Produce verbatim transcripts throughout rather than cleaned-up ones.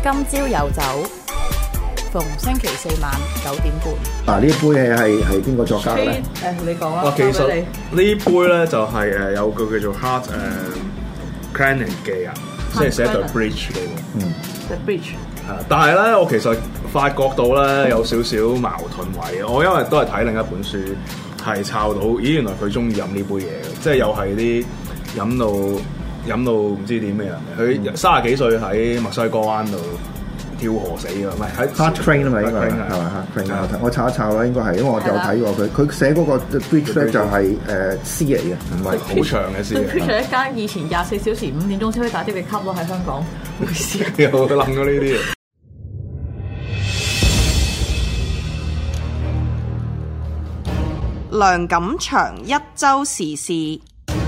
今朝有酒，逢星期四晚九點半。 嗱，呢杯係係係邊個作家嘅咧？ 誒，你講啦。 哇，其實呢杯咧就係誒有個叫做 Hart 誒 Crane 嘅人，即係寫對 bridge 嘅喎。 嗯 The Bridge。 係，但係咧，我其實發覺到咧有少少矛盾位。我因為都係睇另一本書，係抄到，咦，原來佢中意飲呢杯嘢嘅，即係又係啲飲到飲到唔知點嘅人。佢三十幾歲喺墨西哥灣度跳河死㗎，唔係喺 Hart Crane 啊嘛，應該係嘛 Hart Crane 我我查一查啦，應該係，因為我有睇過佢，佢寫嗰個 bridge 咧就係誒詩嚟嘅，唔係好長嘅詩。 佢 bridge 係一間以前廿四小時五點鐘先可以打啲嘅 club 咯，喺香港。冇事。 有諗過呢啲嘢。 梁錦祥一週時事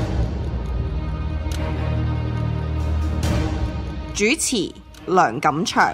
主持梁錦祥。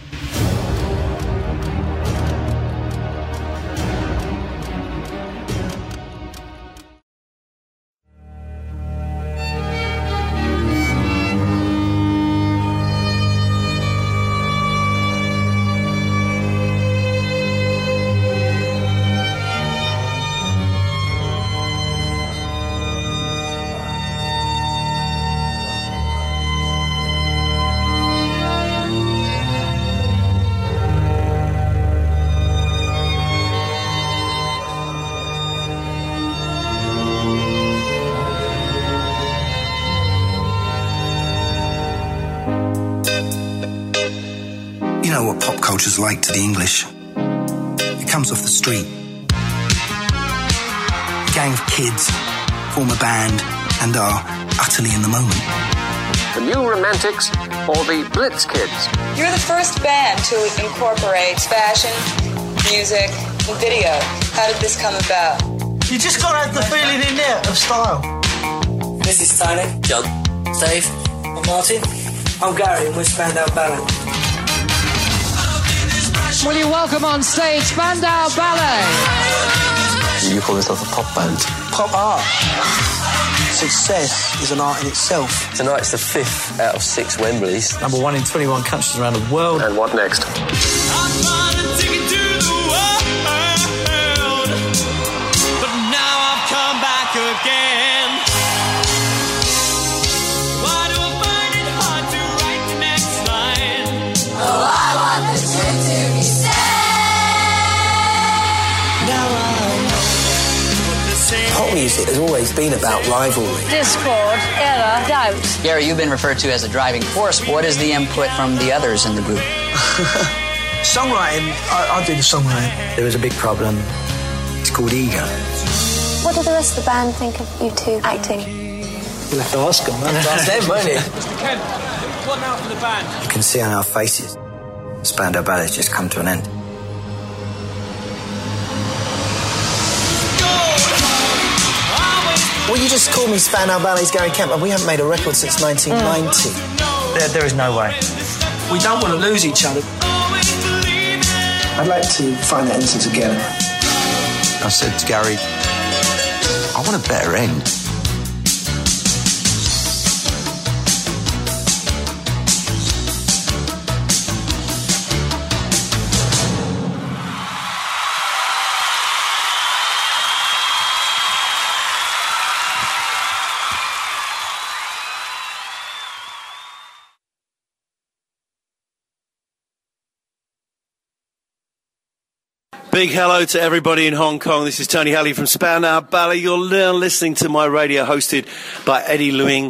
Culture's like to the English. It comes off the street. A gang of kids form a band and are utterly in the moment. The New Romantics or the Blitz Kids? You're the first band to incorporate fashion, music, and video. How did this come about? You just gotta have the feeling in there of style. This is Tony. John. Dave. I'm Martin. I'm Gary and we're Spandau Ballet. Will you welcome on stage Spandau Ballet? You call yourself a pop band? Pop art. Success is an art in itself. Tonight's the fifth out of six Wembleys. Number one in twenty-one countries around the world. And what next? But now I've come back again. Why do I find it hard to write the next line? Oh, I want the truth to be said. Now I know what the same. Pop music has always been about rivalry. Discord, error, doubt. Gary, you've been referred to as a driving force. What is the input from the others in the group? Songwriting, I, I do the songwriting. There is a big problem. It's called ego. What do the rest of the band think of you two acting? You'll have to ask them. Ask them, won't you? Ken, what now for the band? You can see on our faces, Spandau Ballet's just come to an end. Well, you just called me Spandau Ballet's Gary Kemp, and we haven't made a record since nineteen ninety. Mm. There, there is no way. We don't want to lose each other. I'd like to find that innocence again. I said to Gary, I want a better end. Big hello to everybody in Hong Kong. This is Tony Halley from Spandau Ballet. You're listening to my radio hosted by Eddie Lewing.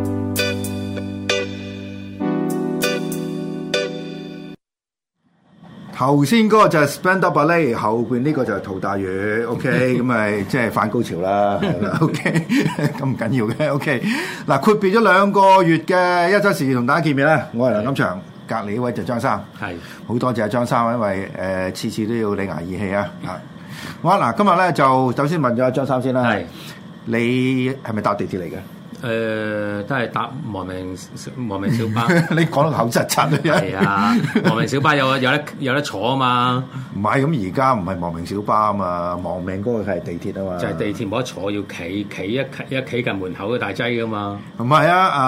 頭先嗰個就係 Spandau Ballet， 後邊呢個就係陶大宇 ，OK， 咁咪即係反高潮啦，係啦 ，OK， 咁唔緊要嘅 ，OK。嗱，闊別咗兩個月嘅一週時事同大家見面咧，我係梁錦祥。隔離呢位就張生，係好多謝張生，因為誒次、呃、次都要你捱義氣啊！啊，好啊！嗱，今日咧就首先問咗張生先啦，係你係咪搭地鐵嚟嘅？ 誒、呃，都係搭亡命亡命小巴。 你講到口窒窒啊！ 係啊，亡命小巴有有得有得坐啊嘛。 唔係咁，而家唔係亡命小巴啊嘛，亡命嗰個係地鐵啊嘛。 就係地鐵冇得坐，要企企一企一企近門口嘅大劑噶嘛。 唔係啊啊！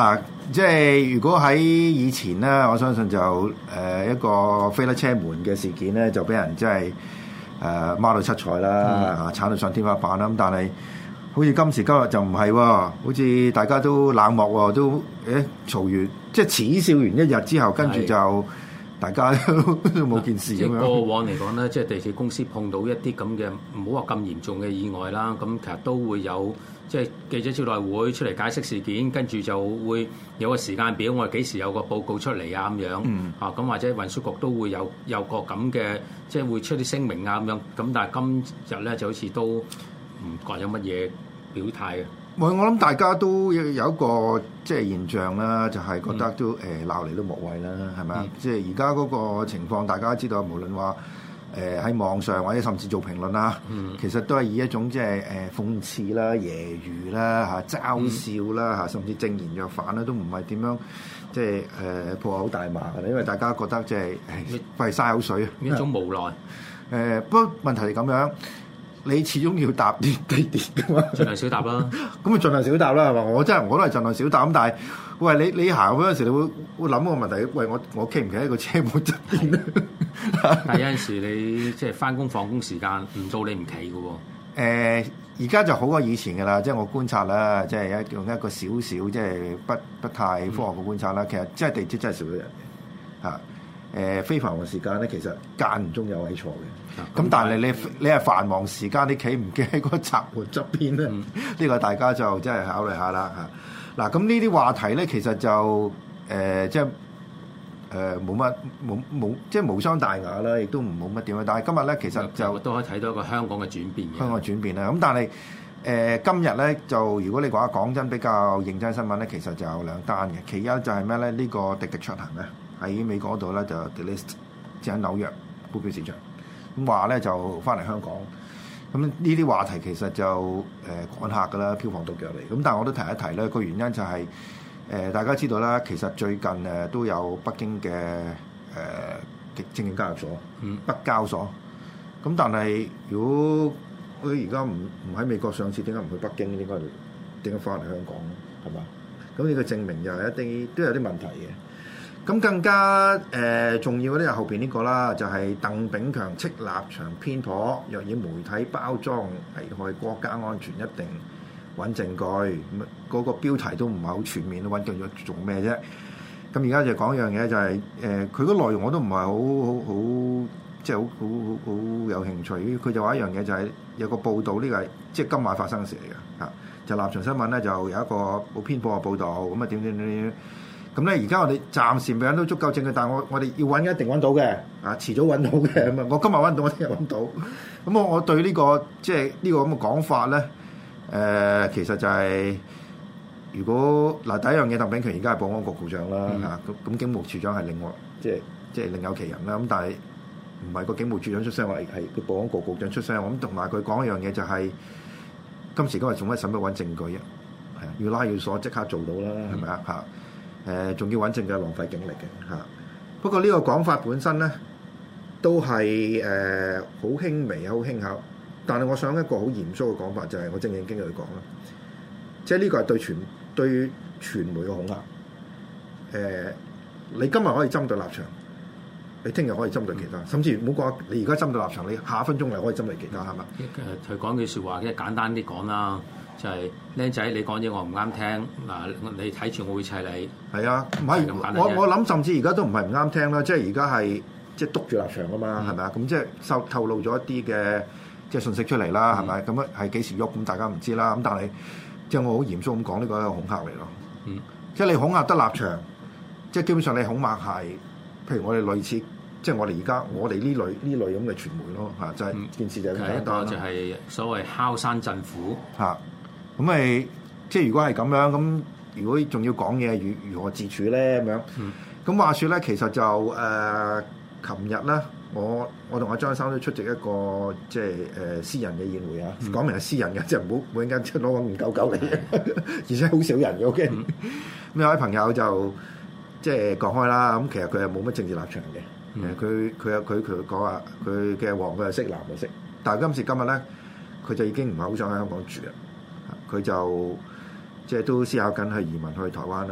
即係如果喺以前咧，我相信就誒、呃、一個飛甩車門嘅事件咧，就俾人即係誒孖到七彩啦，嚇鏟到上天花板啦。咁但係好似今時今日就唔係喎，好似大家都冷漠喎，都誒嘈完即係恥笑完一日之後，跟住就大家都冇件事咁樣。 過往嚟講咧，即係地鐵公司碰到一啲咁嘅唔好話咁嚴重嘅意外啦，咁其實都會有。即係記者招待會出嚟解釋事件，跟住就會有個時間表，我哋幾時有個報告出嚟啊咁樣，嗯、啊咁或者運輸局都會有有個咁嘅，即係會出啲聲明啊咁樣。咁但係今日咧就好似都唔覺有乜嘢表態嘅。 我我諗大家都有一個即係現象啦，就係、是、覺得都誒鬧嚟都無謂啦，係咪啊？即係而家嗰個情況，大家都知道，無論話。誒喺、呃、網上或者甚至做評論啦，嗯、其實都係以一種即係誒諷刺啦、揶揄啦、嚇嘲笑啦、嚇、嗯、甚至正言若反啦，都唔係點樣即係誒破口大罵嘅，因為大家覺得即係費嘥口水啊， 一種無奈。誒、 呃、不過問題係咁樣，你始終要搭啲地鐵㗎嘛， 盡量少搭啦。 咁咪盡量少搭啦，係嘛？我真係我都係盡量少搭咁，但係喂你你行嗰陣時，你會會諗個問題，喂我我企唔企喺個車門側邊咧？ 但係有陣時你即係翻工放工時間唔到你唔企嘅喎。 誒而家就好過以前嘅啦，即係我觀察啦，即係一用一個少少即係不不太科學嘅觀察啦。嗯、其實即係地鐵真係少咗人嘅嚇。誒非繁忙時間咧，其實間唔中有位坐嘅。咁、嗯、但係你你係繁忙時間，你企唔企喺個閘門側邊咧？呢、嗯、個大家就真係考慮下啦嚇。嗱咁呢啲話題咧，其實就誒、呃、即係。誒冇乜冇冇即係無傷大雅啦，亦都唔冇乜點樣。但係今日咧，其實就都可以睇到一個香港嘅轉變嘅。 香港嘅轉變啦。咁但係誒、呃、今日咧，就如果你講講真比較認真新聞咧，其實就有兩單嘅。其一就係咩咧？呢、這個滴滴出行咧喺美國嗰度咧就 delist 即係喺紐約股票市場咁話咧就翻嚟香港。咁呢啲話題其實就誒、呃、趕客㗎啦，票房到腳嚟。咁但係我都提一提咧，個原因就係、是。誒、呃、大家知道啦，其實最近誒、呃、都有北京嘅誒證券交易所，嗯、北交所。咁但係如果佢而家唔唔喺美國上市，點解唔去北京？應該點解翻嚟香港？係嘛？咁呢個證明又係一定都有啲問題嘅。咁更加誒、呃、重要嗰啲係後邊呢個啦，就係、是、鄧炳強斥立場偏頗，若以媒體包裝危害國家安全，一定揾證據，咁、那、嗰個標題都唔係好全面，揾證據做咩啫？咁而家就講一樣嘢，就係誒佢個內容我都唔係好好好，即係好好好好有興趣。佢就話一樣嘢，就係有個報道，呢、這個係即係今晚發生嘅事嚟嘅嚇。就立場新聞咧，就有一個好偏頗嘅報導，咁啊點點點點。咁咧而家我哋暫時未揾到足夠證據，但係我我哋要揾一定揾到嘅，啊遲早揾到嘅咁啊！我今日揾到，我聽日揾到。咁我我對呢、這個即係呢個咁嘅講法咧。誒、呃、其實就係、是、如果嗱第一樣嘢，鄧炳強而家係保安局局長啦嚇，咁咁、嗯啊、警務處長係另外即係即係另有其人啦。咁但係唔係個警務處長出聲，話係個保安局局長出聲。咁同埋佢講一樣嘢就係、是、今時今日仲乜使乜揾證據啊？係啊，要拉要鎖即刻做到啦，係咪啊嚇？誒仲要揾證據，浪費警力嘅嚇。不過呢個講法本身咧都係誒好輕微、好輕巧。但係我想一個好嚴肅嘅講法，就係、是、我正正經經去講啦，即係呢個係對傳對傳媒嘅恐嚇。誒、呃，你今日可以針對立場，你聽日可以針對其他，甚至唔好講你而家針對立場，你下一分鐘你可以針對其他，係嘛？ 誒，佢講句説話，即係簡單啲講啦，就係僆仔，你講嘢我唔啱聽，嗱，你睇住我會砌你。係啊，唔係我我諗，甚至而家都唔係唔啱聽啦，即係而家係即係督住立場啊嘛，係咪啊？咁即係透透露咗一啲嘅。即係信息出嚟啦，係咪？咁啊係幾時喐？咁大家唔知啦。咁但係即係我好嚴肅咁講，呢個係一個恐嚇嚟咯。嗯，即係你恐嚇得立場，即係基本上你恐嚇係，譬如我哋類似，即係我哋而家我哋呢類呢類咁嘅傳媒咯嚇，就係、是、件事就係咁簡單。就係所謂敲山震虎嚇。咁咪即係如果係咁樣，咁如果仲要講嘢，如如何自處咧咁樣？咁、嗯、話説咧，其實就誒，琴日咧。我我同阿張生都出席一個即係誒私人嘅宴會啊，講、嗯、明係私人嘅，即係唔好每間出攞個五九九嚟嘅，而且好少人嘅。OK，咁、嗯、有位朋友就即係講開啦，咁其實佢係冇乜政治立場嘅，誒佢佢有佢佢講話佢嘅黃佢係識藍就識，但係今時今日咧，佢就已經唔係好想喺香港住啦，佢就即係都思考緊去移民去台灣啦。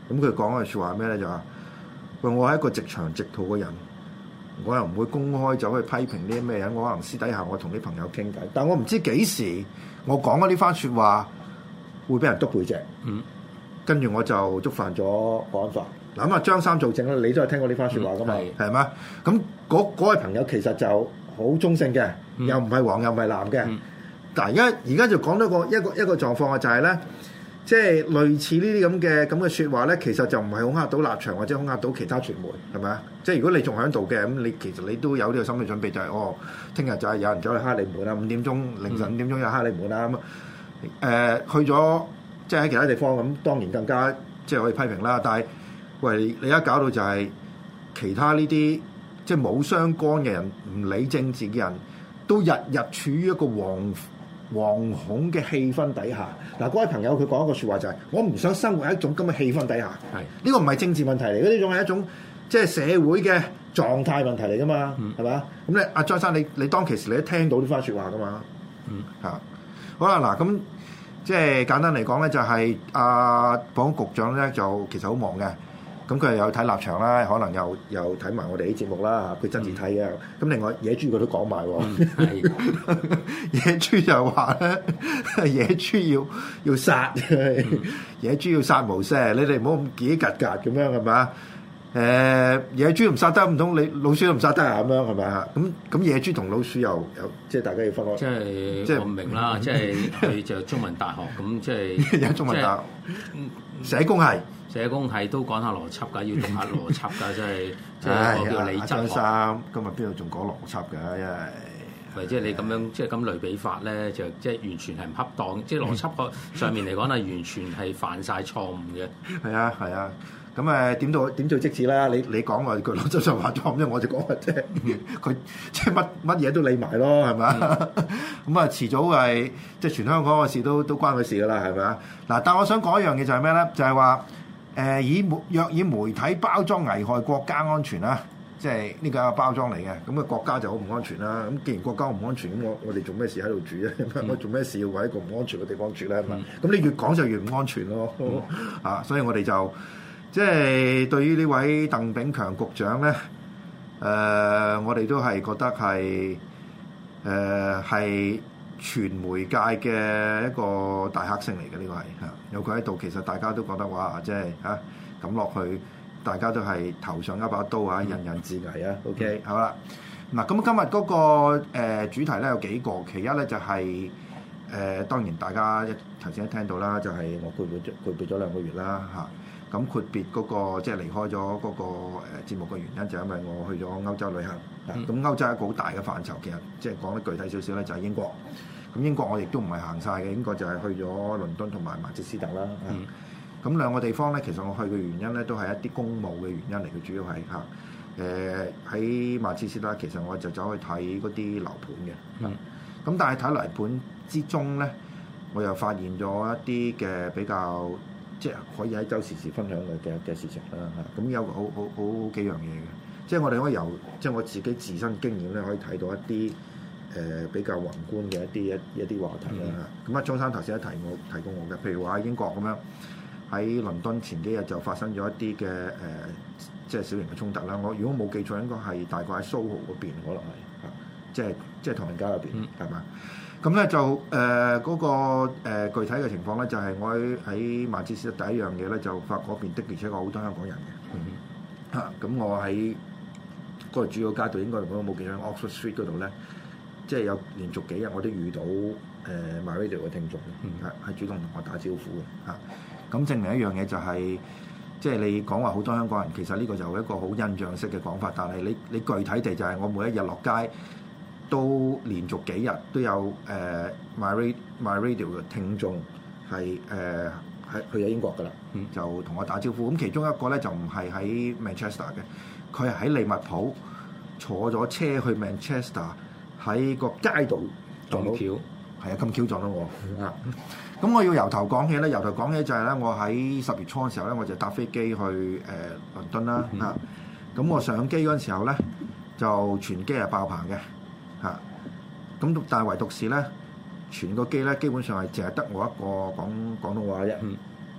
咁佢講嘅説話係咩咧？就話喂，我係一個直腸直肚嘅人，我又唔會公開走去批評呢啲咩人，我可能私底下我同啲朋友傾偈，但我唔知幾時我講嗰呢番説話會俾人篤背脊。嗯，跟住我就觸犯咗國安法。嗱咁啊，張三做證咧，你都係聽過呢番説話噶嘛？係嘛、嗯？咁嗰嗰位朋友其實就好中性嘅，嗯、又唔係黃又唔係藍嘅。嗯、但係而家而家就講到個一個一個狀況啊，就係咧，即係類似呢啲咁嘅咁嘅説話咧，其實就唔係恐嚇到立場或者恐嚇到其他傳媒，係咪啊？即係如果你仲喺度嘅，咁你其實你都有呢個心理準備，就係、是、哦，聽日就係有人走去蝦你門啦，五點鐘凌晨五點鐘有蝦你門啦咁啊。誒、呃，去咗即係喺其他地方咁，當然更加即係可以批評啦。但係喂，你而家搞到就係其他呢啲即係冇相干嘅人，唔理政治嘅人都日日處於一個惶惶恐嘅氣氛底下。嗱，嗰位朋友佢講一個説話就係、是：我唔想生活喺一種咁嘅氣氛底下。係呢是個唔係政治問題嚟嘅，呢種係一種即係社會嘅狀態問題嚟噶嘛，係咪、嗯？咁咧，阿張生，你你當其時你都聽到呢番説話噶嘛？嗯，嚇。好啦，嗱咁即係簡單嚟講咧，就係阿保安局長咧就其實好忙嘅。咁佢又有睇立場啦，可能又又睇埋我哋啲節目啦，佢真係睇嘅。咁、嗯、另外野豬佢都講埋喎，嗯、野豬就話咧，野豬要要殺，嗯、野豬要殺無赦，你哋唔好咁幾格格咁樣係咪？誒、呃、野豬唔殺得，唔通你老鼠都唔殺得啊？咁樣係咪啊？咁咁野豬同老鼠又有即係大家要分開。即係即係我唔明啦，即係佢就中文大學咁，即係有中文大學社工系。社工係都講下邏輯㗎，要讀下邏輯㗎，真係即係我叫李澤三，今日邊度仲講邏輯㗎？因為或者你咁樣即係咁類比法咧，就即係完全係唔恰當，即係邏輯個上面嚟講係完全係犯晒錯誤嘅。係啊係啊，咁誒點到點做即止啦？你你講話佢邏輯上犯錯，咁我就講話即係佢即係乜乜嘢都理埋咯，係咪啊？咁啊遲早係即係全香港嘅事都都關佢事㗎啦，係咪啊？嗱，但我想講一樣嘢就係咩咧？就係話。誒以媒若以媒體包裝危害國家安全啦，即係呢個係包裝嚟嘅，咁啊國家就好唔安全啦。咁既然國家唔安全，咁我我哋做咩事喺度住咧？嗯、我做咩事要喺一個唔安全嘅地方住咧？咁、嗯、你越講就越唔安全咯。嗯、啊，所以我哋就即係對於呢位鄧炳強局長咧，誒、呃、我哋都係覺得係誒係。呃傳媒界嘅一個大黑星嚟嘅，呢個係嚇，有佢喺度，其實大家都覺得哇，即係嚇咁落去，大家都係頭上一把刀啊，人人自危啊。嗯、OK，好啦，嗱咁今日嗰、那個、呃、主題咧有幾個，其一咧就係、是、誒、呃、當然大家一頭先都聽到啦，就係、是、我闊別咗闊別咗兩個月啦嚇，咁闊別嗰個即係離開咗嗰、那個誒、呃、節目嘅原因就係因為我去咗歐洲旅行，咁、嗯、歐洲係一個好大嘅範疇，其實即係講得具體少少咧就係英國。咁英國我亦都唔係行晒嘅，英國就係去咗倫敦同埋曼徹斯特啦。咁、嗯、兩個地方咧，其實我去嘅原因咧，都係一啲公務嘅原因嚟嘅，主要係嚇誒喺曼徹斯特，其實我就走去睇嗰啲樓盤嘅。咁、嗯、但係睇樓盤之中咧，我又發現咗一啲嘅比較即係可以喺周時時分享嘅嘅嘅事情啦。嚇咁有好好好幾樣嘢嘅，即係我哋可以由即係我自己自身經驗咧，可以睇到一啲。誒、呃、比較宏觀嘅一啲一一啲話題啦嚇，咁啊張生頭先都提我提過我嘅，譬如話喺英國咁樣，喺倫敦前幾日就發生咗一啲嘅誒，即係小型嘅衝突啦。我如果冇記錯，應該係大概喺蘇豪嗰邊，可能係嚇，即係即係唐人街嗰邊係嘛？咁咧、嗯、就誒嗰、呃那個、呃、具體嘅情況咧，就係、是、我喺喺曼徹斯特第一樣嘢咧，就發嗰邊的而且確好多香港人嘅嚇。咁、嗯、我喺嗰個主要街道，應該如果冇記錯 Oxford Street 嗰度咧。即係有連續幾日我都遇到誒 MyRadio 嘅聽眾，係係、嗯、主動同我打招呼嘅嚇。咁、啊、證明一樣嘢就係、是，即係你講話好多香港人，其實呢個就係一個好印象式嘅講法。但係你你具體地就係我每一日落街都連續幾日都有誒 MyRadio MyRadio 嘅聽眾係誒喺去咗英國㗎啦，嗯、就同我打招呼。咁其中一個咧就唔係喺 Manchester 嘅，佢係喺利物浦坐咗車去 Manchester。喺個街度撞到，係啊，咁巧撞到我啊！咁我要由頭講起咧，由頭講起就係咧，我喺十月初嘅時候咧，我就搭飛機去誒倫敦啦嚇。咁我上機嗰陣時候咧，就全機係爆棚嘅嚇。咁但係唯獨是咧，全個機咧基本上係淨係得我一個講廣東話啫。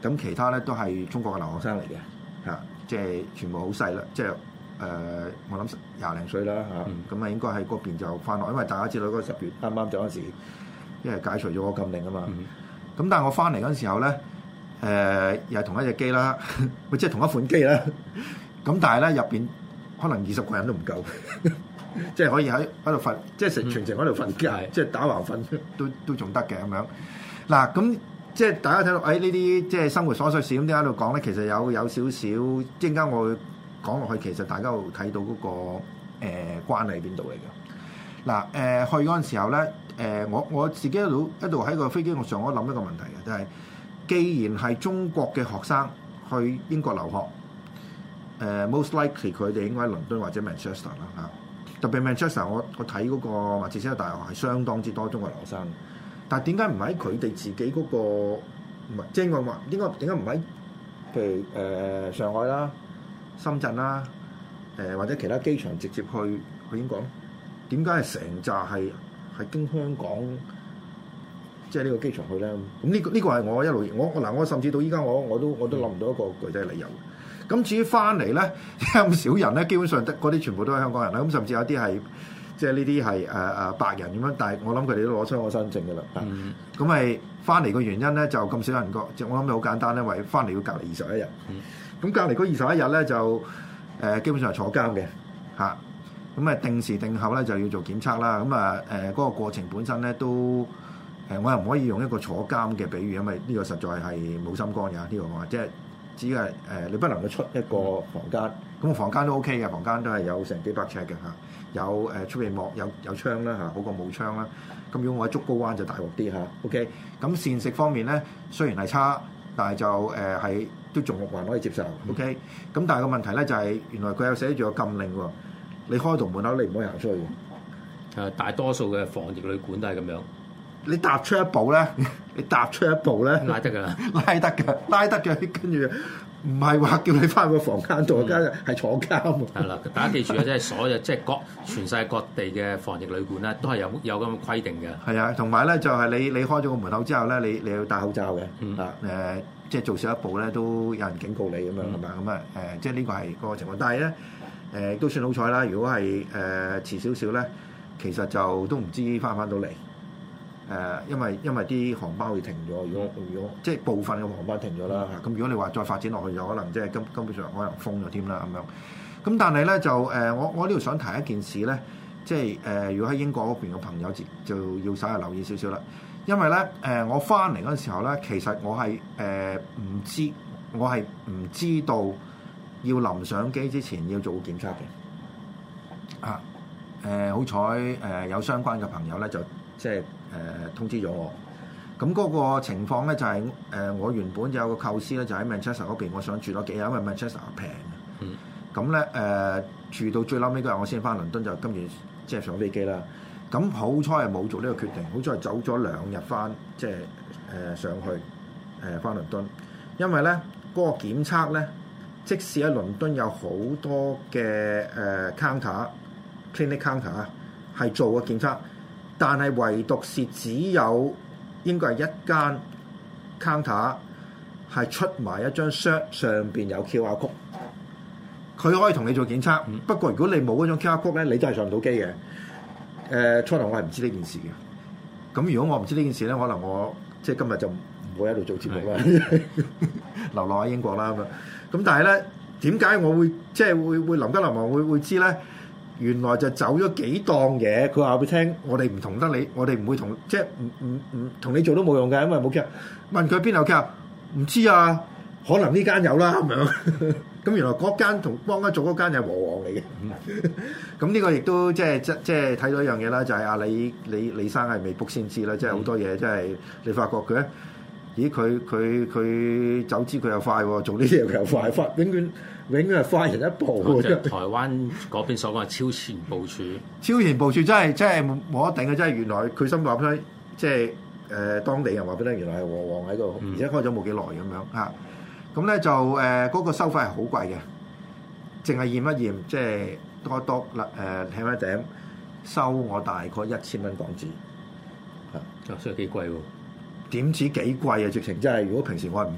咁其他咧都係中國嘅留學生嚟嘅嚇，即係全部好細啦，即係誒、呃、我諗廿零歲啦嚇，咁啊、嗯、應該喺嗰邊就翻學，因為大家知道嗰個十月啱啱就嗰時，因為解除咗個禁令啊嘛。咁、嗯、但係我翻嚟嗰陣時候咧，誒、呃、又係同一隻機啦，即係同一款機啦。咁但係咧入邊可能二十個人都唔夠，即係可以喺喺度瞓，即係成全程喺度瞓覺，嗯、即係打橫瞓都都仲得嘅咁樣。嗱咁。即係大家睇到，誒呢啲即係生活瑣碎事咁點解喺度講咧？其實有有少少，陣間我會講落去，其實大家會睇到嗰、那個誒、呃、關係喺邊度嚟嘅。嗱誒、呃、去嗰陣時候咧，誒、呃、我我自己一路一路喺個飛機上，我諗一個問題嘅，就係、是、既然係中國嘅學生去英國留學，誒、呃、most likely 佢哋應該喺倫敦或者 Manchester 啦嚇。特別 Manchester，我我睇嗰個曼徹斯特大學係相當之多中國留學生。但係點解唔喺佢哋自己嗰、那個唔係即係我話點解點解唔喺譬如誒、呃、上海啦、深圳啦、誒、呃、或者其他機場直接去去英國咧？點解係成扎係係經香港即係呢個機場去咧？咁呢、這個呢、這個係我一路我嗱我甚至到依家我我都我都諗唔到一個具體理由。咁至於翻嚟咧，咁少人咧，基本上得嗰啲全部都係香港人啦。咁甚至有啲係。即係呢啲係誒誒白人咁樣，但係我諗佢哋都攞出我身證嘅啦。咁咪翻嚟個原因咧，就咁少人過，我諗好簡單咧，為翻嚟要隔離二十一日。咁、嗯、隔離嗰二十一日咧就誒、呃、基本上係坐監嘅嚇。咁啊定時定候咧就要做檢測啦。咁啊誒嗰個過程本身咧都誒、呃、我又唔可以用一個坐監嘅比喻，因為呢個實在係冇心肝嘅呢、呢個話，即係只係誒、呃、你不能夠出一個房間。咁個房間都 OK 嘅，房間都係有成幾百尺嘅嚇。有誒出邊幕有有窗啦嚇，好過冇窗啦。咁如果我喺竹篙灣就大鑊啲嚇。OK，咁膳食方面咧雖然係差，但係就誒係、呃、都仲還可以接受。OK，咁但係個問題咧就係、是、原來佢有寫住個禁令喎，你開到門口你唔可以行出去嘅。誒，大多數嘅防疫旅館都係咁樣。你踏出一步咧，你踏出一步咧，拉得㗎，拉得㗎，拉得嘅，跟住。唔係話叫你翻個房間度，間係坐監喎。係啦，大家記住啊，即係所有即係各全世界各地嘅防疫旅館咧，都係有有咁嘅規定嘅。係啊，同埋咧就係你你開咗個門口之後咧，你你要戴口罩嘅。嗯。啊誒、呃，即係做少一步咧，都有人警告你咁樣係嘛？咁啊誒，即係呢個係嗰個情況。但係咧誒都算好彩啦。如果係誒、呃、遲少少咧，其實就都唔知翻唔翻到嚟。誒、呃，因為因為啲航班會停咗，如果如果即係部分嘅航班停咗啦嚇，咁、嗯、如果你話再發展落去，就可能即係根根本上可能封咗添啦咁樣。咁但係咧就誒、呃，我我呢度想提一件事咧，即係誒、呃，如果喺英國嗰邊嘅朋友就要稍為留意少少啦，因為咧誒、呃，我翻嚟嗰陣時候咧，其實我係誒唔知，我係唔知道要臨上機之前要做檢測嘅。啊誒、呃，好彩誒有相關嘅朋友咧就即係。誒、呃、通知咗我，咁嗰個情況咧就係、是、誒、呃、我原本有個構思咧，就喺 Manchester 嗰邊，我想住多幾日，因為 Manchester 平嘅。咁咧誒住到最嬲尾嗰日，我先翻倫敦，就跟住即係上飛機啦。咁好彩係冇做呢個決定，好彩係走咗兩日翻，即係誒、呃、上去誒翻倫敦，因為咧嗰、那個檢測咧，即使喺倫敦有好多嘅誒、呃、counter clinic counter 啊，係做個檢測。但係唯獨是只有應該係一間 counter 係出埋一張 shirt 上邊有 Q R code，佢可以同你做檢測。嗯、不過如果你冇嗰種 Q R code 咧，你都係上唔到機嘅。誒、呃，初頭我係唔知呢件事嘅。咁如果我唔知呢件事咧，可能我即係今日就唔會喺度做節目啦，流落喺英國啦咁啊。咁但係咧，點解我會即係會會臨急臨忙會會知咧？原來就走咗幾檔嘢，佢話俾你聽，我哋唔同得你，我哋唔會同，即係唔唔唔同你做都冇用嘅，因為冇 care。問佢邊度 care，唔知啊，可能呢間有啦咁樣。咁原來嗰間同幫緊做嗰間係和黃嚟嘅。咁呢個亦都即係即即係睇到一樣嘢啦，就係、是、阿李李李生係未卜先知啦，即係好多嘢，即係你發覺佢咧，咦佢佢佢走資佢又快喎，做呢啲嘢佢又快，快永遠。永遠係快人一步喎！即係台灣嗰邊所講嘅超前部署，超前部署真係真係冇得頂嘅，真係原來佢心話俾即係誒、呃、當地人話俾你聽，原來係和黃喺度，而且開咗冇幾耐咁樣嚇。咁咧就誒嗰、呃那個收費係好貴嘅，淨係驗一驗，即係多多啦誒睇一頂，收我大概一千蚊港紙嚇，所以幾貴喎？點止幾貴啊？直情真係，如果平時我係唔唔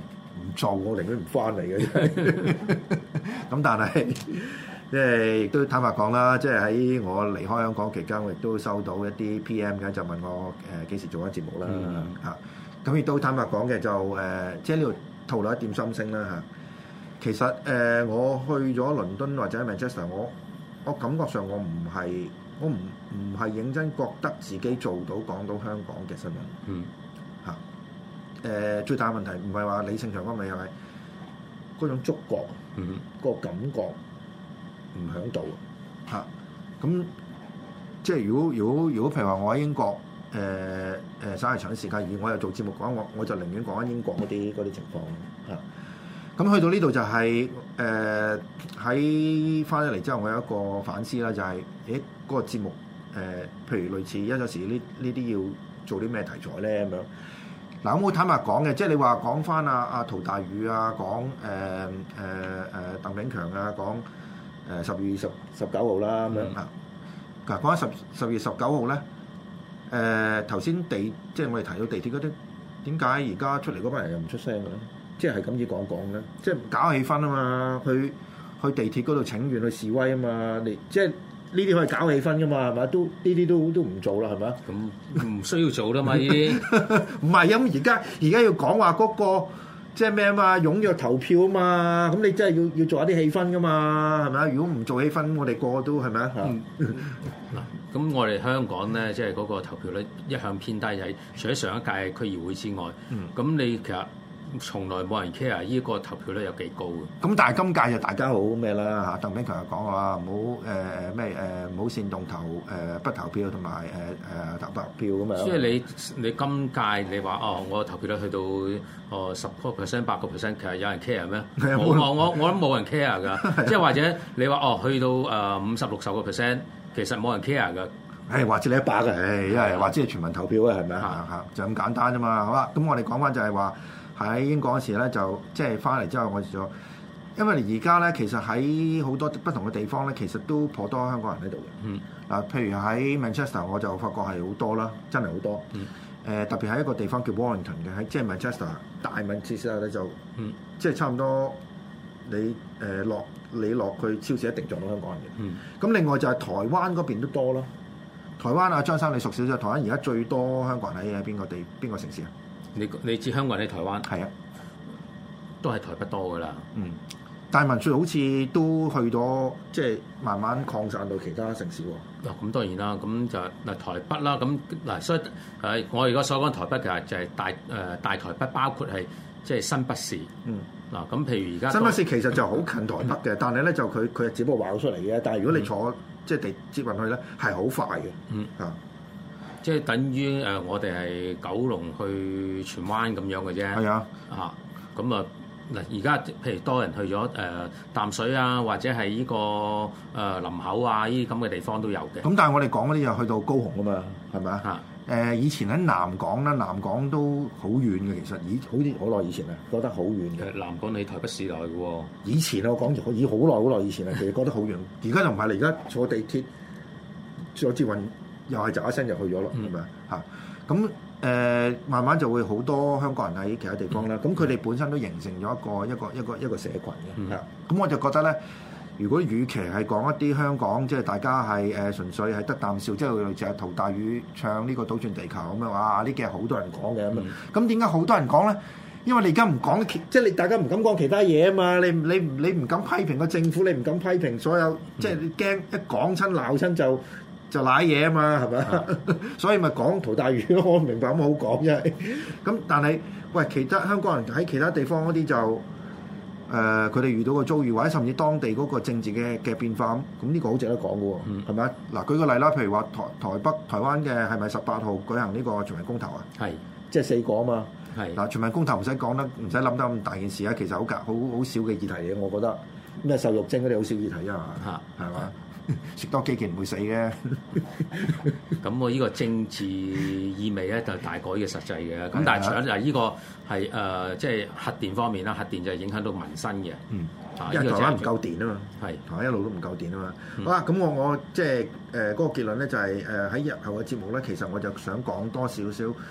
做，我寧願唔翻嚟嘅真係。咁但係即係亦都坦白講啦，即係喺我離開香港期間，我亦都收到一啲 P M 嘅，就問我誒幾、呃、時做緊節目啦嚇。咁亦都坦白講嘅就誒、呃，即係呢度透露一點心聲啦嚇。其實誒、呃，我去咗倫敦或者 Manchester， 我我感覺上我唔係我唔唔係認真覺得自己做到講到香港嘅新聞。嗯嚇。誒、呃、最大問題唔係話李勝長嗰味係咪嗰種觸覺，嗯，個感覺唔響度嚇。咁、啊、即係如果如果如果譬如話我喺英國誒誒稍為長啲時間，而我又做節目講，我我就寧願講緊英國嗰啲嗰啲情況嚇。咁、啊、去到呢度就係誒喺翻咗嚟之後，我有一個反思啦，就係誒嗰個節目誒、呃，譬如類似一陣時呢呢啲要做啲咩題材咧咁樣。嗱，咁我坦白講嘅，即係你話講翻阿阿陶大宇啊，講誒誒誒鄧炳強啊，講誒十月十十九號啦咁樣啊。嗱，講緊十十月十九號咧，誒頭先地即係我哋提到地鐵嗰啲，點解而家出嚟嗰班人又唔出聲嘅咧？即係係咁意講講咧，即係搞氣氛啊嘛，去去地鐵嗰度請願去示威啊嘛，你即係。呢啲可以搞氣氛噶嘛，係咪？都呢啲都都唔做啦，係咪？ 咁唔需要做啦嘛，呢啲唔係咁而家而家要講話嗰個即係咩啊嘛？踴躍投票啊嘛，咁你真係要要做一啲氣氛噶嘛，係咪？如果唔做氣氛，我哋個個都係咪啊？ 嗱，咁我哋香港咧，即係嗰個投票率一向偏低，係除咗上一屆區議會之外，咁、嗯、你其實。從來冇人 care 呢個投票率有幾高嘅。咁但係今屆就大家好咩啦嚇？鄧炳強又講話唔好誒誒咩誒唔好煽動投誒、呃、不投票同埋誒誒投白票咁樣。 所以你你今屆你話哦，我投票率去到哦十個 percent 八個 percent， 其實有人 care 咩？我我我我諗冇人 care 㗎。即係或者你話哦去到誒五十六十個 percent， 其實冇人 care 㗎。 誒或者你一百嘅，誒因為或者係全民投票啊，係咪啊？嚇就咁簡單啫嘛。好啦，咁我哋講翻就係話。喺英國嗰時咧，就即係翻嚟之後，我就咗，因為而家咧，其實喺好多不同嘅地方咧，其實都頗多香港人喺度嘅。嗯，嗱，譬如喺 Manchester，我就發覺係好多啦，真係好多。嗯，誒、呃、特別喺一個地方叫 Warrington 嘅，喺即係 Manchester 大 Manchester 咧就，嗯，即係差唔多你誒落、呃、你落去超市一定撞到香港人嘅。嗯，咁另外就係台灣嗰邊都多咯。台灣啊，張生你熟少少，台灣而家最多香港人喺喺邊個地邊個城市啊？ 你你知香港人喺台灣係啊， 都係台北多噶啦。嗯， 但係民粹好似都去咗，即係慢慢擴散到其他城市喎。 嗱、哦，咁當然啦，咁就嗱台北啦，咁嗱所以誒，我而家所講台北其實就係大誒、呃、大台北，包括係即係新北市。嗯，嗱咁譬如而家新北市其實就好近台北嘅，嗯、但係咧就佢佢只不過畫咗出嚟嘅。但係如果你坐、嗯、即係地接運去咧，係好快嘅。嗯啊。 即係等於誒、呃，我哋係九龍去荃灣咁樣嘅啫。係啊，嚇咁啊嗱，而家譬如多人去咗誒、呃、淡水啊，或者係呢、這個誒、呃、林口啊，呢啲咁嘅地方都有嘅。 咁但係我哋講嗰啲又去到高雄啊嘛，係咪啊？嚇誒、呃，以前喺南港啦，南港都好遠嘅，其實以好似好耐以前啊，覺得好遠嘅。 南港喺台北市內嘅喎。 以前我講已好耐好耐以前啊，其實覺得好遠。而家就唔係啦，而家坐地鐵坐捷運。又係就一聲就去咗咯，係咪啊？咁誒，慢慢就會好多香港人喺其他地方啦。咁佢哋本身都形成咗一個一個一個一個社群嘅。咁、嗯、我就覺得咧，如果與其係講一啲香港，即係大家係誒純粹係得啖笑，即係類似係陶大宇唱呢個倒轉地球咁樣話，呢幾日好多人講嘅咁啊。咁點解好多人講咧？因為你而家唔講，即係你大家唔敢講其他嘢啊嘛。你你你唔敢批評個政府，你唔敢批評所有，即係你驚一講親鬧親就。就賴嘢啊嘛，係咪、啊？所以咪講陶大宇咯，我明白咁好講啫。咁但係喂，其他香港人喺其他地方嗰啲就誒，佢、呃、哋遇到個遭遇，或者甚至當地嗰個政治嘅嘅變化咁，咁呢個好值得講嘅喎，係咪？嗱，舉個例啦，譬如話台台北、台灣嘅係咪十八號舉行呢個全民公投啊？係，即係四個啊嘛。係嗱，全民公投唔使講得，唔使諗得咁大件事啊。其實好好好少嘅議題嘅，我覺得咩瘦肉精嗰啲好少議題啊，嚇係嘛？食多幾件唔會死嘅， 咁我呢個政治意味咧就大過呢個實際嘅。咁但係除咗就係呢個係誒，即係核電方面啦，核電就係影響到民生嘅。嗯， 因為台灣唔夠電啊嘛，係台灣一路都唔夠電啊嘛。嗯、好啦，咁我我即係誒嗰個結論咧就係誒喺日後嘅節目咧，其實我就想講多少少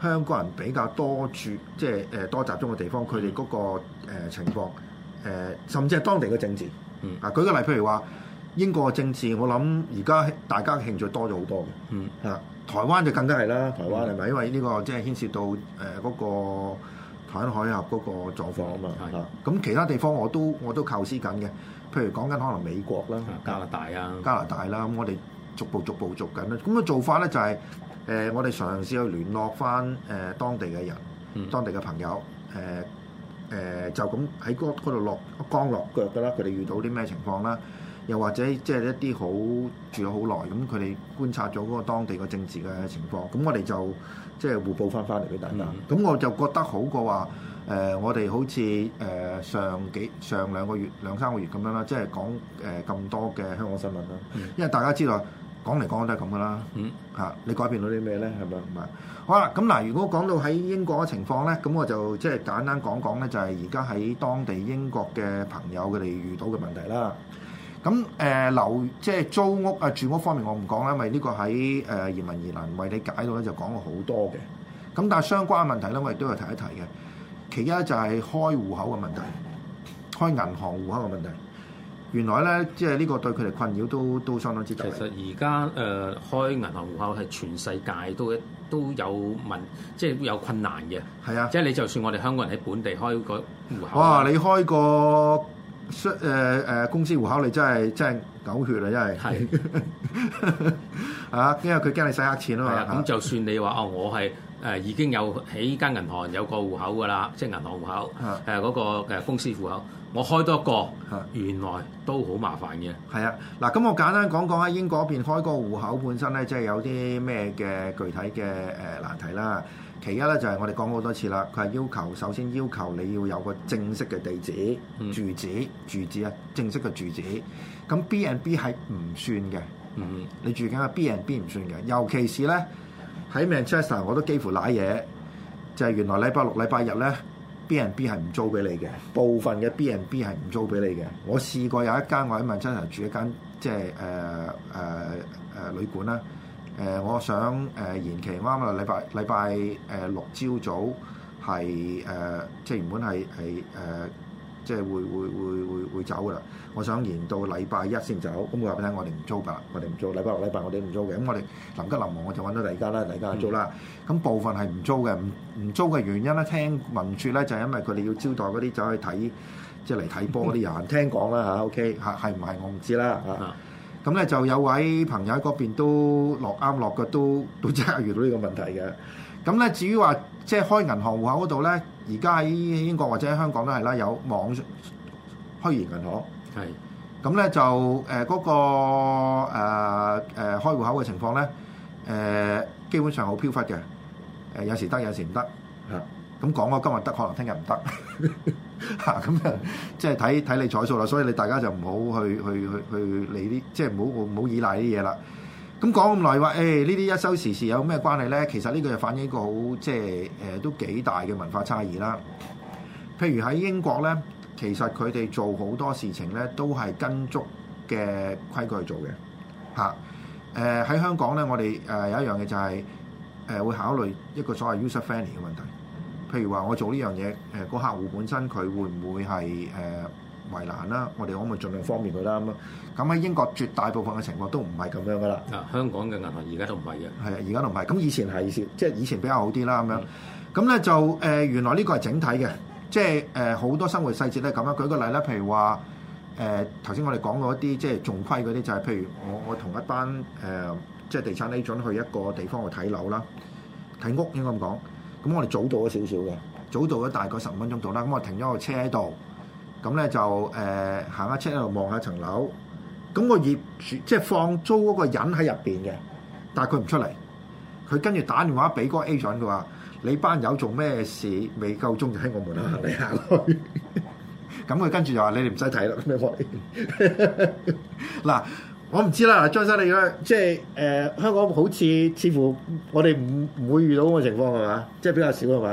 香港人比較多住，即係誒多集中嘅地方，佢哋嗰個、呃、情況誒、呃，甚至係當地嘅政治。嗯，啊，舉個例，譬如話英國嘅政治，我諗而家大家嘅興趣多咗好多嘅。嗯，啊，台灣就更加係啦，台灣係咪、嗯？因為呢個即係牽涉到誒嗰、呃那個台灣海峽嗰個狀況啊嘛。係、嗯。咁、啊、其他地方我都我都構思緊嘅，譬如講緊可能美國啦、 加拿大啊、 加拿大啦，咁我哋逐步逐步做緊啦。咁嘅做法咧就係、是。誒、呃，我哋嘗試去聯絡翻誒、呃、當地嘅人、嗯、當地嘅朋友，誒、呃、誒、呃、就咁喺嗰度落降落腳㗎啦。佢哋遇到啲咩情況啦？又或者即係一啲好住咗好耐，咁佢哋觀察咗嗰個當地嘅政治嘅情況，咁我哋就即係互報翻翻嚟俾大家。咁、嗯、我就覺得好過話誒、呃，我哋好似誒、呃、上幾上兩個月兩三個月咁樣啦，即係講誒咁多嘅香港新聞啦、嗯。因為大家知道。講嚟講去都係咁噶啦，嗯嚇，你改變到啲咩咧？係咪唔係？好啦，咁嗱，如果講到喺英國嘅情況咧，咁我就即係簡單講講咧，就係而家喺當地英國嘅朋友佢哋遇到嘅問題啦。咁誒樓即係租屋啊住屋方面我唔講啦，因為呢個喺誒、呃、移民疑難為你解到咧就講過好多嘅。咁但係相關嘅問題咧，我亦都要提一提嘅。其一就係開戶口嘅問題，開銀行戶口嘅問題。原來咧，即係呢個對佢哋困擾都都相當之大。 其實而家誒開銀行戶口係全世界都都有問，即係有困難嘅。係啊，即係你就算我哋香港人喺本地開個戶口， 哇！你開個誒誒、呃、公司戶口，你真係真係狗血啊！真係係啊，因為佢驚你洗黑錢啊嘛。 係啊，咁就算你話哦，我係誒、呃、已經有喺間銀行有個戶口㗎啦，即係銀行戶口誒嗰、呃那個誒公司戶口。我開多個，原來都好麻煩嘅。 係啊，嗱，咁我簡單講講喺英國嗰邊開個戶口本身咧，即係有啲咩嘅具體嘅誒難題啦。其一咧就係我哋講好多次啦，佢係要求首先要求你要有個正式嘅地址、嗯、住址、住址啊，正式嘅住址。咁 B and B 係唔算嘅，嗯，你住緊嘅 B and B 唔算嘅，尤其是咧喺 Manchester 我都幾乎瀨嘢，就係、是、原來禮拜六、禮拜日咧。B and B 係唔租俾你嘅，部分嘅 B and B 係唔租俾你嘅。我試過有一間我喺曼徹斯特住一間即係誒誒誒旅館啦。誒、呃，我想誒、呃、延期啱啱禮拜禮拜誒六朝早係誒、呃，即係原本係係誒，即係會會會會會走噶啦。我想延到禮拜一先走。咁我話俾你聽，我哋唔租㗎，我哋唔租。禮拜六、禮拜我哋唔租嘅。咁我哋臨急臨忙，我就揾到第二間啦，第二間租啦。咁、嗯、部分係唔租嘅，唔唔租嘅原因咧，聽聞説咧就係、是、因為佢哋要招待嗰啲走去睇，即係嚟睇波嗰啲人。聽講啦嚇 ，OK 嚇係唔係我唔知啦嚇。咁咧就有位朋友喺嗰邊都落啱落嘅，都都即刻遇到呢個問題嘅。咁咧至於話即係開銀行戶口嗰度咧，而家喺英國或者喺香港都係啦，有網虛擬銀行。係，咁咧就誒嗰、呃那個誒誒、呃呃、開戶口嘅情況咧，誒、呃、基本上好飄忽嘅，誒、呃、有時得有時唔得嚇。咁講我今日得，可能聽日唔得嚇，咁啊即係睇睇你彩數啦。所以你大家就唔好去去去去理啲，即係唔好唔好依賴啲嘢啦。咁講咁耐話，誒呢啲一收時事有咩關係咧？其實呢個就反映一個好即係誒、呃、都幾大嘅文化差異啦。譬如喺英國咧。其實佢哋做好多事情咧，都係跟足嘅規矩去做嘅嚇。誒、啊、喺香港咧，我哋誒、呃、有一樣嘢就係、是、誒、呃、會考慮一個所謂 user friendly 嘅問題。譬如話我做呢樣嘢，誒、呃、個客戶本身佢會唔會係誒、呃、為難啦？我哋可唔可以盡量方便佢啦？咁啊，咁喺英國絕大部分嘅情況都唔係咁樣噶啦。 啊，香港嘅銀行而家都唔係嘅。係啊， 而家都唔係。咁以前係即係以前比較好啲啦。咁樣咁咧就誒、呃、原來呢個係整體嘅。即係誒好多生活細節咧咁樣，舉個例咧，譬如話誒頭先我哋講過一啲即係重規嗰啲，就係、是、譬如我我同一班誒、呃、即係地產 agent 去一個地方去睇樓啦，睇屋應該咁講。咁我哋早到咗少少嘅，早到咗大概十五分鐘到啦。咁我停咗個車喺度，咁咧就誒、呃、行下車喺度望下層樓。咁個業主即係放租嗰個人喺入邊嘅，但係佢唔出嚟。佢跟住打電話俾嗰個 agent，佢話：你班友做咩事？未夠鐘就喺我門口行嚟行去。咁佢跟住就話：你哋唔使睇啦，咁樣我哋。嗱，我唔知啦。張生，你而家即係誒、呃、香港好似似乎我哋唔唔會遇到咁嘅情況係嘛？即係比較少係嘛？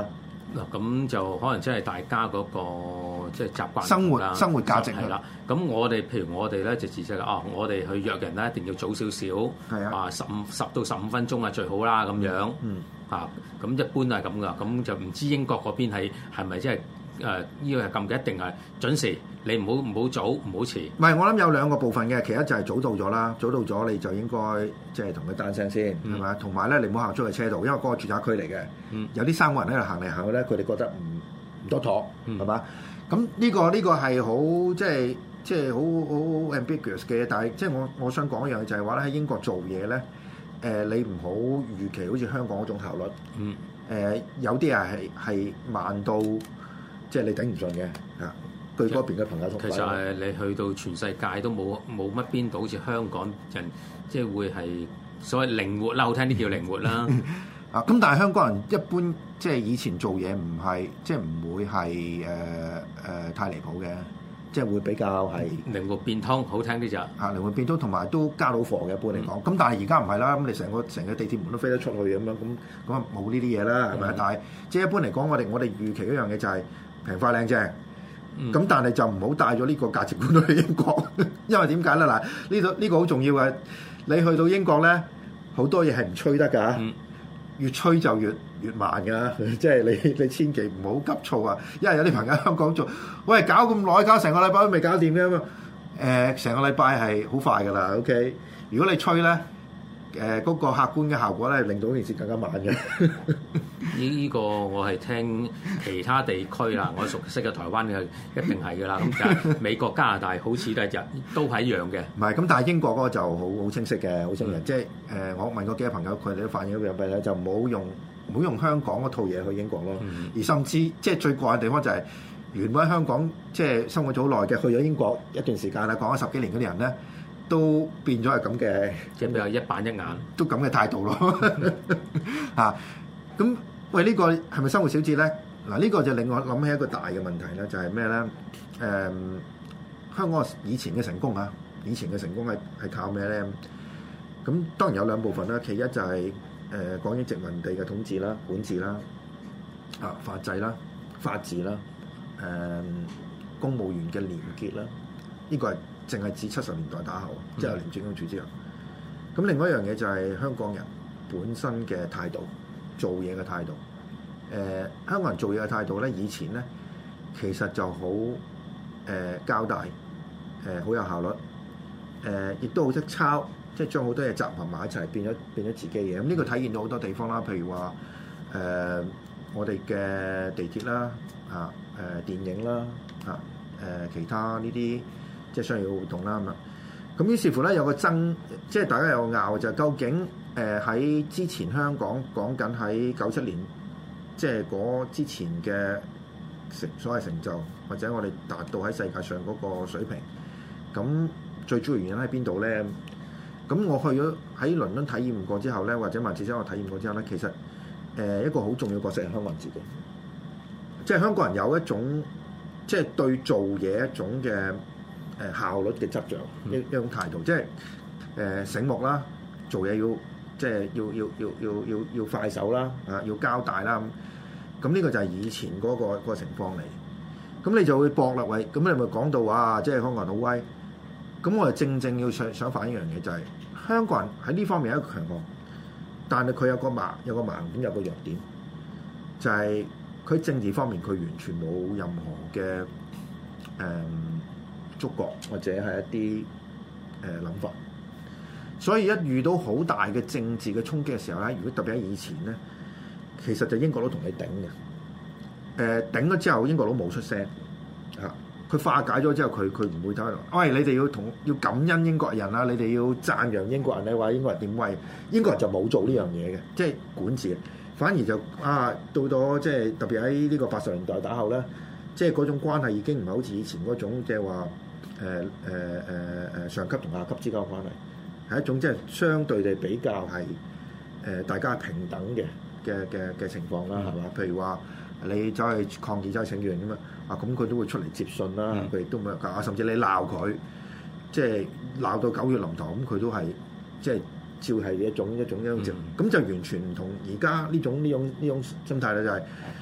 嗱，咁就可能真係大家嗰個即係習慣生活生活價值係啦。咁我哋譬如我哋咧就自責啊，我哋去約人咧一定要早少少，係啊，十五十到十五分鐘啊最好啦咁樣。嗯。嚇，咁一般係咁噶，咁就唔知英國嗰邊係係咪即係誒呢個係咁嘅？一定係準時，你唔好唔好早，唔好遲。 唔係，我諗有兩個部分嘅，其一就係早到咗啦，早到咗你就應該即係同佢單聲先，係咪？同埋咧，你唔好行出去車道，因為嗰個住宅區嚟嘅，嗯、有啲三個人喺度行嚟行去咧，佢哋覺得唔唔多妥，係嘛、嗯？咁呢、這個呢、這個係好即係即係好好 ambiguous 嘅，但係即係我我想講一樣嘢就係話咧，喺英國做嘢咧。誒、呃、你唔好預期好似香港嗰種效率，嗯，誒、呃、有啲人係係慢到即係你頂唔順嘅，啊，據嗰邊嘅朋友同其實係你去到全世界都冇冇乜邊度好似香港人，即係會係所謂靈活啦，好聽啲叫靈活啦， 啊，咁但係香港人一般即係以前做嘢唔係即係唔會係誒誒太離譜嘅。即係會比較係靈活變通，好聽啲就啊靈活變通，同埋都加到貨嘅一般嚟講。咁、嗯、但係而家唔係啦，咁你成個成個地鐵門都飛得出去咁樣，咁咁啊冇呢啲嘢啦，係咪、嗯？但係即係一般嚟講，我哋我哋預期一樣嘢就係平快靚正。咁、嗯、但係就唔好帶咗呢個價值觀去英國，因為點解咧？嗱，呢度呢個好重要嘅。你去到英國咧，好多嘢係唔吹得㗎。嗯越吹就越越慢㗎，即係你你千祈唔好急躁啊！因為有啲朋友喺香港做，喂搞咁耐，搞成個禮拜都未搞掂嘅嘛。誒、呃，成個禮拜係好快㗎啦。OK，如果你吹咧，誒、呃、嗰、那個客觀嘅效果咧，令到件事更加慢嘅。 呢呢個我係聽其他地區啦，我熟悉嘅台灣嘅一定係㗎啦。咁但係美國、加拿大好似都係都係一樣嘅。 唔係咁，但係英國嗰個就好好清晰嘅，好清晰。嗯、即係誒、呃，我問過幾個朋友，佢哋都反映咗樣嘢，就唔好用唔好用香港嗰套嘢去英國咯。嗯、而甚至即係最怪嘅地方就係、是、原本喺香港即係生活咗好耐嘅，去咗英國一段時間啦，講咗十幾年嗰啲人咧，都變咗係咁嘅， 即係比較一板一眼， 都咁嘅態度咯。嚇咁。喂，呢、這個係咪生活小節咧？嗱，呢個就令我諗起一個大嘅問題咧，就係咩咧？誒、嗯，香港以前嘅成功啊，以前嘅成功係係靠咩咧？咁當然有兩部分啦，其一就係、是、誒、呃、講緊殖民地嘅統治啦、管治啦、啊法制啦、法治啦、誒、呃、公務員嘅廉潔啦，呢、這個係淨係指七十年代打後，即係廉政公署之後。咁另外一樣嘢就係香港人本身嘅態度。做嘢嘅態度，誒、呃、香港人做嘢嘅態度咧，以前咧其實就好誒、呃、交代，誒、呃、好有效率，誒、呃、亦都好識抄，即係將好多嘢集合埋一齊，變咗變咗自己嘢。咁、嗯、呢、這個體現到好多地方啦，譬如話誒、呃、我哋嘅地鐵啦，啊誒、呃、電影啦，啊誒、呃、其他呢啲即係商業活動啦咁啊。咁於是乎咧有個爭，即係大家有個拗就係究竟。誒喺、呃、之前香港講緊喺九七年，即係嗰之前嘅成所謂成就，或者我哋達到喺世界上嗰個水平，咁最主要原因喺邊度咧？咁我去咗喺倫敦體驗過之後咧，或者曼徹斯特我體驗過之後咧，其實誒、呃、一個好重要角色係香港人自己，即係香港人有一種即係對做嘢一種嘅誒、呃、效率嘅執着，一、嗯、一種態度，即係誒、呃、醒目啦，做嘢要。即係要要要要要要快手啦，啊要交代啦咁，咁呢個就係以前嗰、嗰個嗰個情況嚟。咁你就會駁落位，咁你咪講到話，即係香港人好威。咁我哋正正要想想反映一樣嘢，就係香港人喺呢方面有一個強項，但係佢有個盲有個盲點有個弱點，就係、是、佢政治方面佢完全冇任何嘅誒、嗯、觸覺或者係一啲誒諗法。所以一遇到好大嘅政治嘅衝擊嘅時候咧，如果特別喺以前咧，其實就英國佬同你頂嘅。誒、呃、頂咗之後，英國佬冇出聲嚇，佢、啊、化解咗之後，佢佢唔會睇落。喂，你哋要同要感恩英國人啦，你哋要讚揚英國人咧，話英國人點威，英國人就冇做呢樣嘢嘅，即係管治，反而就啊到咗即係特別喺呢個八十年代打後咧，即係嗰種關係已經唔係好似以前嗰種即係話誒誒誒誒上級同下級之間嘅關係。係一種即係相對地比較係誒、呃、大家平等嘅嘅嘅嘅情況啦，係嘛？譬如話你走去抗議走去請願咁啊，啊咁佢都會出嚟接信啦，佢亦都冇啊，甚至你鬧佢，即係鬧到狗血淋頭，咁佢都係即係照係一種一種一種咁、嗯、就完全唔同而家呢種呢種呢種心態咧，就係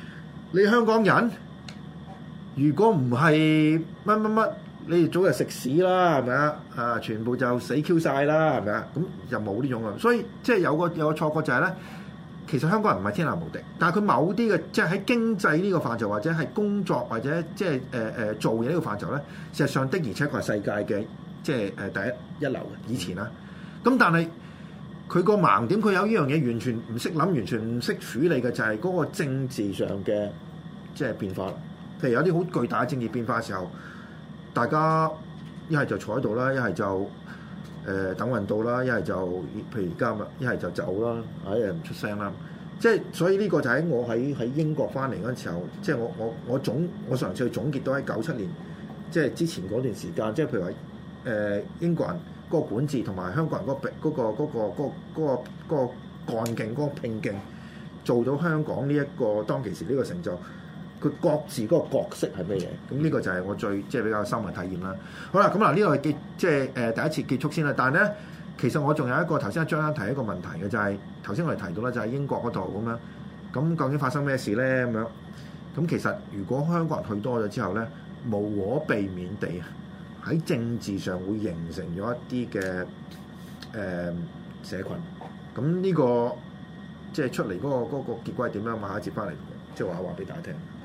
你香港人如果唔係乜乜乜，你哋早就食屎啦，係咪啊？啊，全部就死 Q 晒啦，係咪啊？咁就冇呢種啊。所以即係有個有個錯覺就係咧，其實香港人唔係天下無敵，但係佢某啲嘅即係喺經濟呢個範疇，或者係工作或者即係誒誒做嘢呢個範疇咧，事實上的而且確係世界嘅即係誒第一一流嘅以前啦。咁但係佢個盲點，佢有呢樣嘢完全唔識諗，完全唔識處理嘅就係嗰個政治上嘅即係變化。譬如有啲好巨大嘅政治變化嘅時候，大家一係就坐喺度啦，一係就誒、呃、等運到啦，一係就譬如而家嘛，一係就走啦，一係唔出聲啦。即係所以呢個就喺我喺喺英國翻嚟嗰陣時候，即係我我我總我上次去總結到喺九七年，即係之前嗰段時間，即係譬如話誒、呃、英國人嗰個管治同埋香港人嗰、嗰個嗰、嗰個嗰、嗰個嗰、嗰個嗰、嗰個嗰個幹勁嗰、嗰個拼勁，做到香港呢、這、一個當其時呢個成就。佢各自嗰個角色係咩嘢？咁呢個就係我最即係比較深嘅體驗啦。好啦，咁嗱呢個結即係誒第一次結束先啦。但係咧，其實我仲有一個頭先阿張生提一個問題嘅，就係頭先我哋提到咧，就係英國嗰度咁樣。咁究竟發生咩事咧？咁樣咁其實如果香港人去多咗之後咧，無可避免地喺政治上會形成咗一啲嘅誒社群。咁呢個即係出嚟嗰個嗰個結果係點樣？馬下接翻嚟，即係話話俾大家聽。